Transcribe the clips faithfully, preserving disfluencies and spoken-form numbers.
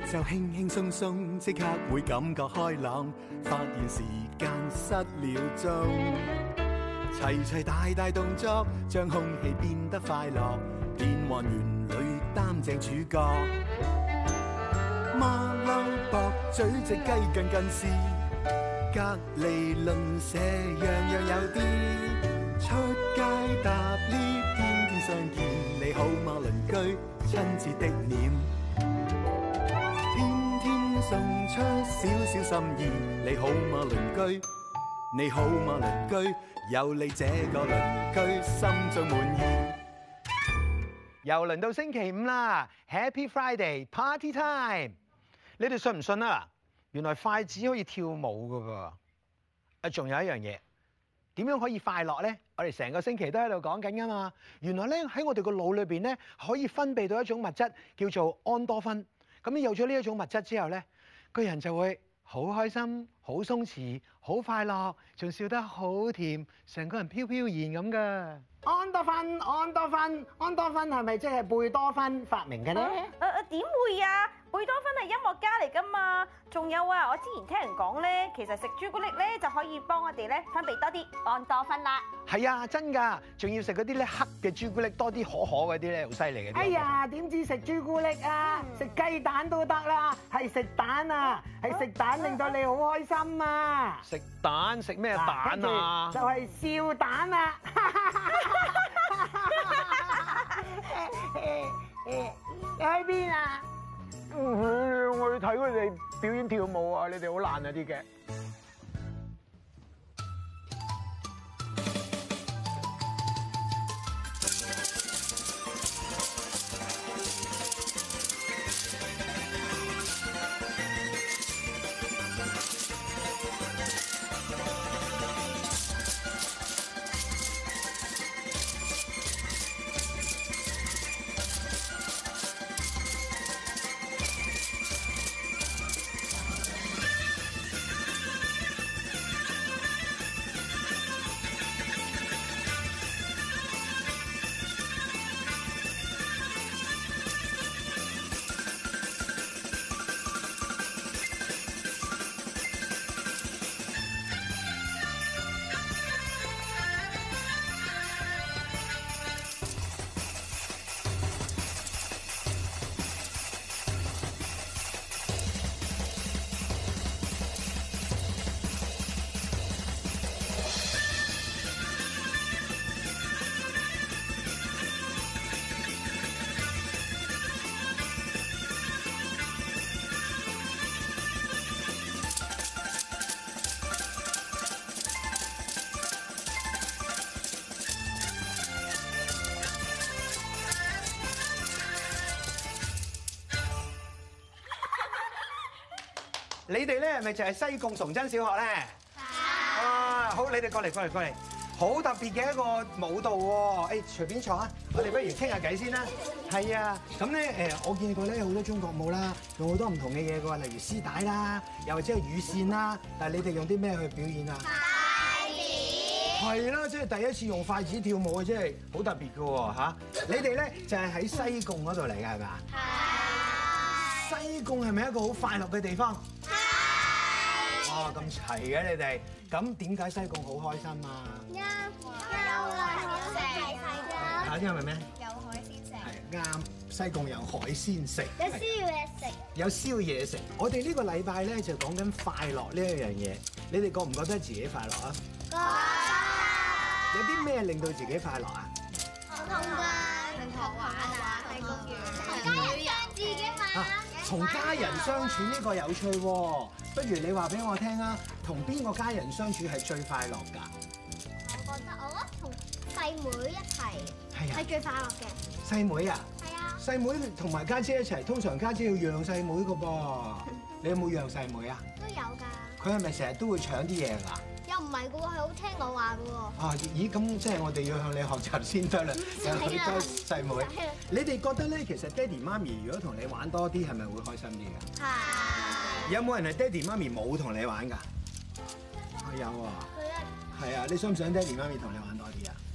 就輕輕鬆鬆，即刻會感覺開朗，發現時間失了蹤。齊齊大大動作，將空氣變得快樂，變幻園裏擔正主角。馬騮駁嘴隻雞近近視，隔離鄰舍樣樣有啲。出街搭 lift， 天天相見，你好嗎鄰居？親切的臉，天天送出少少心意，你好嗎鄰居？你好嗎鄰居？有你這個鄰居，心中滿意。 又輪到星期五啦 ，Happy Friday，Party time！ 你哋信唔信啊？原來筷子可以跳舞噶噃。啊，仲有一樣嘢，點樣可以快樂咧？我哋成個星期都喺度講緊噶嘛。原來咧喺我哋個腦裏邊咧，可以分泌到一種物質叫做安多酚。咁你有咗呢一種物質之後咧，個人就會好開心、好鬆弛、好快樂，仲笑得好甜，成個人飄飄然咁噶。安多酚，安多酚，安多酚係咪即係貝多芬發明嘅咧？ 誒誒點會啊？貝多芬係音樂家嚟噶嘛。仲有啊，我之前聽人講咧，其實食朱古力咧就可以幫我哋咧分泌多啲安多酚啦。係啊，真㗎，仲要食嗰啲咧黑嘅朱古力多啲可可嗰啲咧，好犀利嘅。 哎呀，點知食朱古力啊？食、嗯、雞蛋都得啦，係食蛋啊，係食蛋令到你好開心啊！ 食蛋食咩蛋啊？ 就係、是、笑蛋啊！你喺邊啊？ 我去睇佢哋表演跳舞啊！你哋好爛啊啲嘅。你哋咧係咪就係西貢崇真小學咧？係。啊，好，你哋過嚟過嚟過嚟，好特別嘅一個舞蹈喎。誒，隨便坐啊，我哋不如傾下偈先啦。係啊，咁咧誒，我見過咧好多中國舞啦，用好多唔同嘅嘢嘅喎，例如絲帶啦，又或者係羽線啦。但係你哋用啲咩去表演啊？筷子。係啦，即係第一次用筷子跳舞啊，真係好特別嘅喎嚇。你哋咧就係喺西貢嗰度嚟嘅係咪啊？係。西貢係咪一個好快樂嘅地方？哦，咁齊嘅你哋，咁點解西貢好開心啊？ 啱，有海鮮食啊！ 嚇，因為咩？ 有海鮮食。 係啱，西貢有海鮮食。 有宵夜食。 有宵夜食。我哋呢個禮拜咧就講緊快樂呢一樣嘢，你哋覺唔覺得自己快樂啊？ 覺得。 有啲咩令到自己快樂啊？ 同家同學玩啊，喺公園。同家人讓自己玩。 同家人相處呢個有趣喎，不如你話俾我聽啊，同邊個家人相處係最快樂㗎？ 我覺得我覺得同細妹一齊係最快樂嘅。 細妹啊？ 係啊。細妹同埋家姐一齊，通常家姐要讓細妹㗎噃。你有冇讓細妹啊？ 都有㗎。 佢係咪成日都會搶啲嘢㗎？ 又唔係㗎喎，係好聽我話㗎喎。 啊，咦，咁即係我哋要向你學習先得啦。有好多細妹，你哋覺得咧，其實爹哋媽咪如果同你玩多啲，係咪會開心啲㗎？係。有冇人係爹哋媽咪冇同你玩㗎？有啊。係啊，你想唔想爹哋媽咪同你玩多啲啊？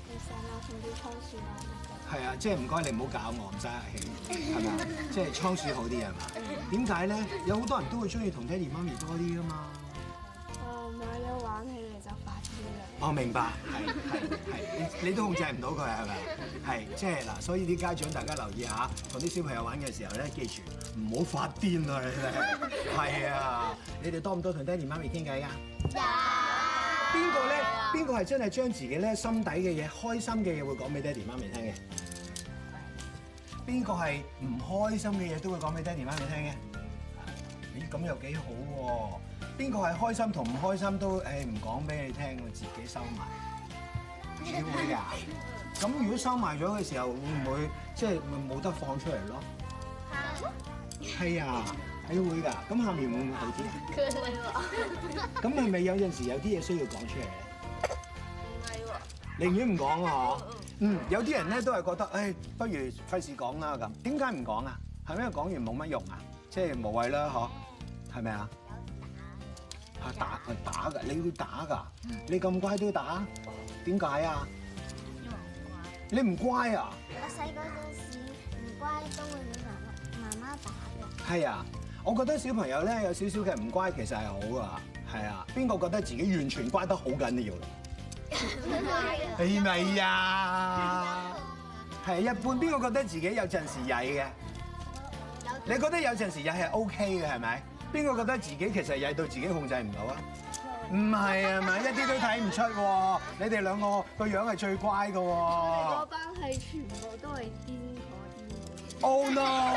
其實我同啲倉鼠玩得㗎。 係啊，即係唔該你唔好搞我，唔使客氣，係咪啊？即係倉鼠好啲係嘛？點解咧？有好多人都會中意同爹哋媽咪多啲噶嘛。 誒買咗玩起嚟就發癲啦。 我明白，係係係，你你都控制唔到佢係咪？係即係嗱，所以啲家長大家留意下，同啲小朋友玩嘅時候咧，記住唔好發癲啊！你哋係啊，你哋多唔多同爹哋媽咪傾偈㗎？ 有。 邊個咧？邊個係真係將自己咧心底嘅嘢、開心嘅嘢會講俾爹哋媽咪聽嘅？邊個係唔開心嘅嘢都會講俾爹哋媽咪聽嘅？咦，咁又幾好喎！邊個係開心同唔開心都誒唔講俾你聽，我自己收埋？你會㗎？咁如果收埋咗嘅時候，會唔會即係咪冇得放出嚟咯？係啊，你會㗎。咁下面會唔會好啲啊？ 佢會喎。 咁係咪有陣時有啲嘢需要講出嚟咧？ 唔係喎。 寧願唔講啊！嗯，有啲人咧都係覺得，誒，不如費事講啦咁。點解唔講啊？係咪因為講完冇乜用啊？即係無謂啦，嗬？係咪啊？嚇打啊打㗎！你會打㗎？你咁乖都打？點解啊？你唔乖啊？ 我細個嗰時唔乖都會俾媽媽媽媽打嘅。 係啊，我覺得小朋友咧有少少嘅唔乖其實係好㗎。係啊，邊個覺得自己完全乖得好緊要？係咪啊？係一般，邊個覺得自己有陣時曳嘅？你覺得有陣時曳係 OK 嘅係咪？邊個覺得自己其實曳到自己控制唔到啊？唔係啊嘛，一啲都睇唔出喎。你哋兩個個樣係最乖嘅喎。 嗰班係全部都係癲嗰啲。 Oh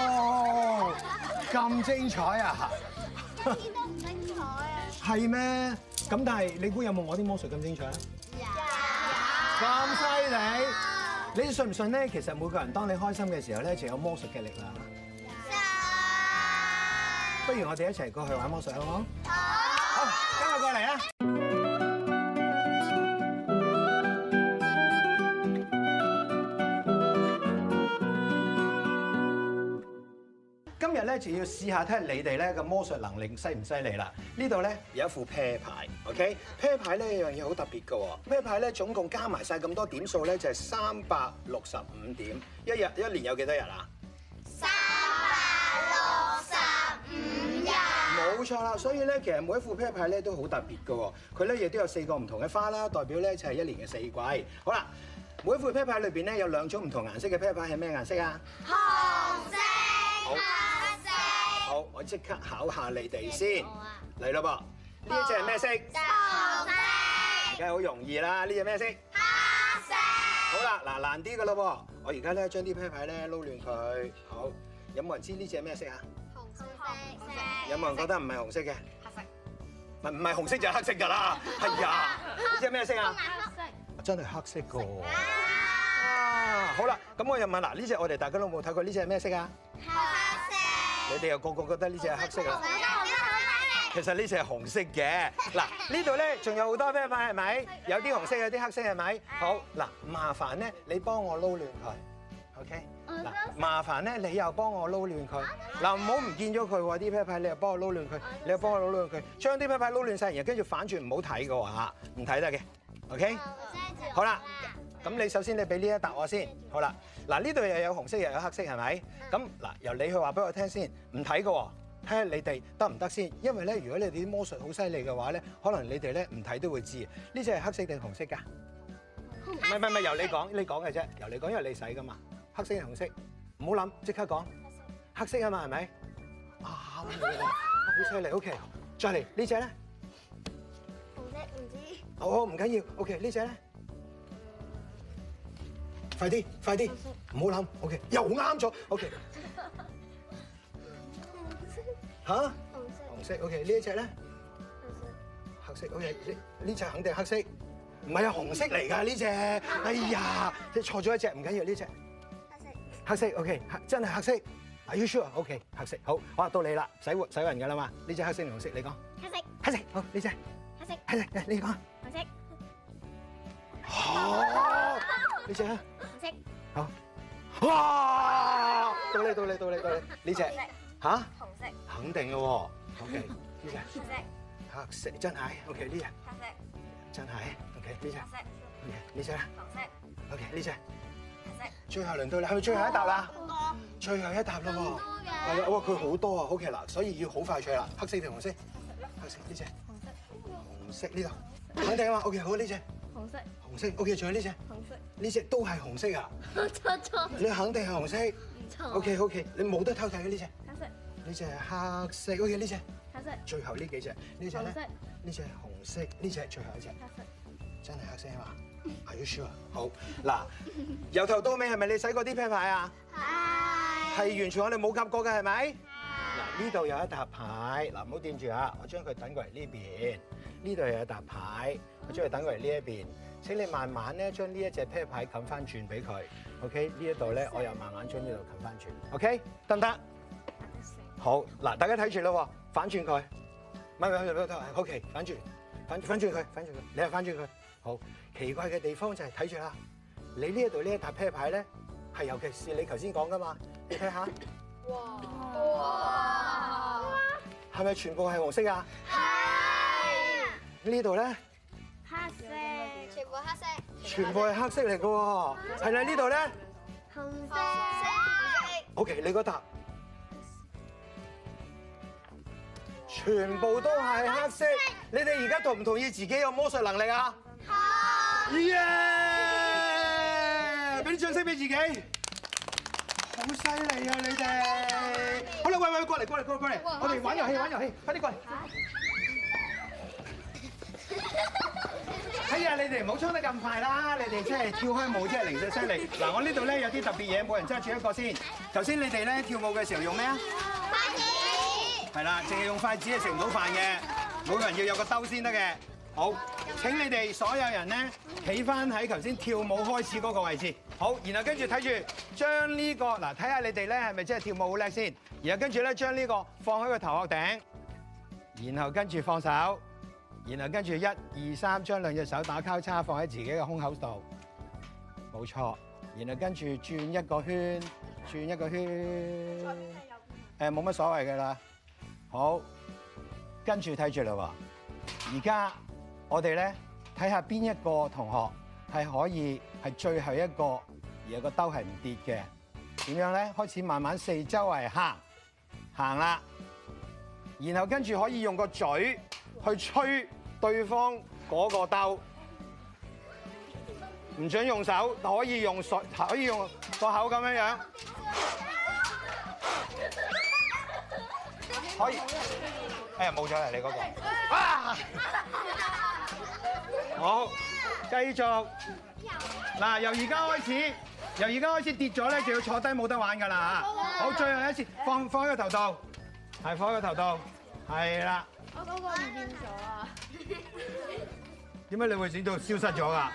no！咁精彩啊！ 一啲都唔精彩啊！ 係咩？咁但係你估有冇我啲魔術咁精彩啊？ 有。 咁犀利！你信唔信咧？其實每個人當你開心嘅時候咧，就有魔術嘅力量啦。不如我哋一齊過去玩魔術好唔好？好。好，跟我過嚟啦！今日咧就要試下睇下你哋咧嘅魔術能力犀唔犀利啦！呢度咧有一副啤牌 ，OK？ 啤牌咧有樣嘢好特別嘅喎，啤牌咧總共加埋晒咁多點數咧就係三百六十五點。一日一年有幾多日啊？ 三百六十五日。 冇錯啦，所以咧其實每一副啤牌咧都好特別嘅喎，佢咧亦都有四個唔同嘅花啦，代表咧就係一年嘅四季。好啦，每一副啤牌裏邊咧有兩種唔同顏色嘅啤牌，係咩顏色啊？ 紅色。 好。好，我即刻考下你哋先，嚟咯噃！呢一隻係咩色？ 紅色。 而家好容易啦，呢隻咩色？ 黑色。 好啦，嗱難啲嘅咯噃，我而家咧將啲啤牌咧撈亂佢。好，有冇人知呢隻係咩色啊？ 紅色。 有冇人覺得唔係紅色嘅？ 黑色。 唔唔係紅色就係黑色㗎啦。係啊，呢隻咩色啊？ 黑色。 真係黑色㗎喎。啊，好啦，咁我又問嗱，呢隻我哋大家都冇睇過，呢隻係咩色啊？ 黑色。 你哋又個個覺得呢隻係黑色啦。其實呢隻係紅色嘅。嗱，呢度咧仲有好多啤牌係咪？有啲紅色，有啲黑色係咪？好，嗱，麻煩咧，你幫我撈亂佢 ，OK？嗱，麻煩咧，你又幫我撈亂佢。嗱，唔好唔見咗佢喎，啲啤牌你又幫我撈亂佢，你又幫我撈亂佢，將啲啤牌撈亂晒，然後跟住反轉唔好睇嘅喎嚇，唔睇得嘅 ，OK？好啦。咁你首先你俾呢一答我先，好啦，嗱呢度又有紅色又有黑色係咪？咁嗱由你去話俾我聽先，唔睇嘅喎，睇下你哋得唔得先？因為咧，如果你哋啲魔術好犀利嘅話咧，可能你哋咧唔睇都會知。呢隻係黑色定紅色㗎？唔係唔係唔係，由你講，你講嘅啫，由你講，因為你使㗎嘛。黑色定紅色？唔好諗，即刻講。黑色啊嘛，係咪？啱嘅，好犀利。OK， 再嚟呢隻咧？ 紅色唔知。 好好唔緊要。OK， 呢隻咧？快啲，快啲，唔好諗。OK， 又啱咗。OK。嚇？紅色。紅色。OK， 呢一隻咧？黑色。OK， 呢呢隻肯定黑色。唔係啊，紅色嚟㗎呢隻。哎呀，你錯咗一隻，唔緊要呢隻。黑色。黑色。OK， 黑真係黑色。Are you sure？OK， 黑色。好，好到你啦，洗碗洗勻㗎啦嘛。呢隻黑色定紅色？你講。 黑色。 黑色。好，呢隻。 黑色。 黑色。你講。 紅色。 好。呢隻啊？ 紅色。 好。哇！到你到你到你到你呢隻嚇？ 紅色。 肯定嘅喎。OK，呢隻。 黑色。 黑色真係。OK，呢隻。 黑色。 真係。OK，呢隻。 黑色。 OK， 呢隻咧？ 黃色。 OK， 呢隻。 紅色。 最後輪到你，係咪最後一沓啦？最後一沓啦喎。係啊，哇，佢好多啊。OK 嗱，所以要好快脆啦。黑色定紅色？黑色呢隻。紅色。紅色呢度。肯定啊嘛。OK， 好呢隻。 紅色。 紅色。OK， 仲有呢隻。 紅色。 呢隻都係紅色啊？ 錯錯。 你肯定係紅色。 錯。 OK OK， 你冇得偷睇嘅呢隻。 黑色。 呢隻係黑色。OK 呢隻。 黑色。 最後呢幾隻，呢隻咧？呢隻係紅色，呢隻係最後一隻。 黑色。 真係黑色啊嘛？Are you sure？好嗱，由頭到尾係咪你洗過啲啤牌啊？係。係完全我哋冇夾過嘅係咪？係。嗱呢度有一沓牌，嗱唔好掂住啊！我將佢等過嚟呢邊。呢度有一沓牌，我將佢等過嚟呢一邊。請你慢慢咧將呢一隻啤牌冚翻轉俾佢。OK， 呢一度咧我又慢慢將呢度冚翻轉。OK， 得唔得？好嗱，大家睇住咯，反轉佢。唔係唔係唔係，OK， 反轉，反反轉佢，反轉佢，你又反轉佢。好奇怪嘅地方就係睇住啦，你呢一度呢一沓啤牌咧，係尤其是你頭先講噶嘛，你睇下。哇！哇！係咪全部係紅色啊？係。呢度咧？ 黑色。全部黑色。 全部係黑色嚟嘅喎，係啦呢度咧？ 紅色。 OK， 你嗰沓全部都係黑色，你哋而家同唔同意自己有魔術能力啊？好！耶！俾啲掌聲俾自己，好犀利啊你哋！好啦，喂喂，過嚟過嚟過嚟過嚟，我哋玩遊戲玩遊戲，快啲過嚟！哎呀，你哋唔好衝得咁快啦！你哋真係跳開舞真係零舍犀利。嗱，我呢度咧有啲特別嘢，每人揸住一個先。頭先你哋咧跳舞嘅時候用咩啊？筷子。係啦，淨係用筷子係食唔到飯嘅，每個人要有個兜先得嘅。好，請你哋所有人咧企翻喺頭先跳舞開始嗰個位置。好，然後跟住睇住將呢個嗱，睇下你哋咧係咪真係跳舞好叻先。然後跟住咧將呢個放喺個頭殼頂，然後跟住放手。然後跟住一二三，將兩隻手打交叉放喺自己嘅胸口度，冇錯。然後跟住轉一個圈，轉一個圈。誒冇乜所謂㗎啦。好，跟住睇住啦喎。而家我哋咧睇下邊一個同學係可以係最後一個，而個兜係唔跌嘅。點樣咧？開始慢慢四周圍行，行啦。然後跟住可以用個嘴去吹對方嗰個兜，唔准用手，可以用水，可以用個口咁樣樣，可以。哎呀，冇咗啦，你嗰個。啊！好，繼續。嗱，由而家開始，由而家開始跌咗咧，就要坐低冇得玩㗎啦嚇。好，最後一次，放放喺個頭度，係放喺個頭度，係啦。 我嗰個唔見咗啊！ 點解你會整到消失咗㗎？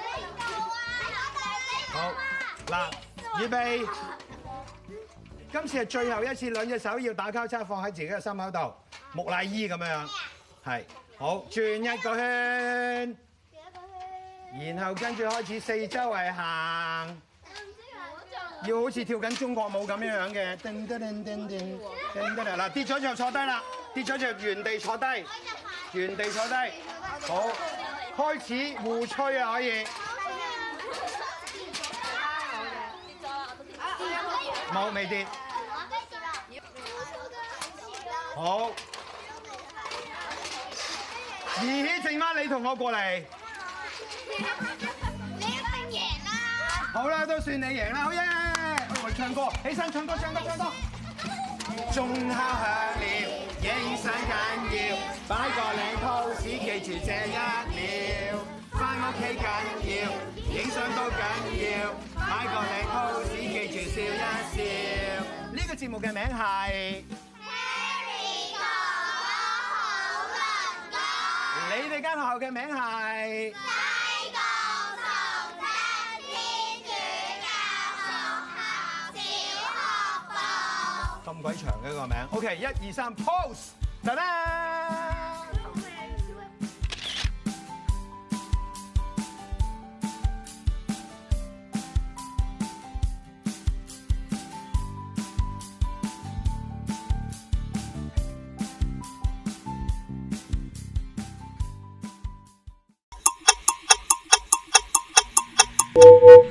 好，嗱，預備，今次係最後一次，兩隻手要打交叉放喺自己嘅心口度，木乃伊咁樣，係，好，轉一個圈，然後跟住開始四周圍行，要好似跳緊中國舞咁樣樣嘅，叮叮叮叮叮，叮叮嗱，跌咗就坐低啦，跌咗就原地坐低，原地坐低，好。開始互吹啊！可以，冇未跌，好，兒戲剩翻你同我過嚟， 你一定贏啦！ 好啦，都算你贏啦，好耶！我哋唱歌，起身唱歌，唱歌，唱歌。鐘敲響了，影相緊要，擺個靚 pose，記住這一秒。返屋企緊要，影相都緊要，擺個靚 pose，記住笑一笑。呢個節目嘅名係 Harry 哥哥好鄰居。 你哋間學校嘅名係西貢崇真天主教學校小學部。 咁鬼長嘅個名。OK， 一二三 ，pose， 得啦。 拜。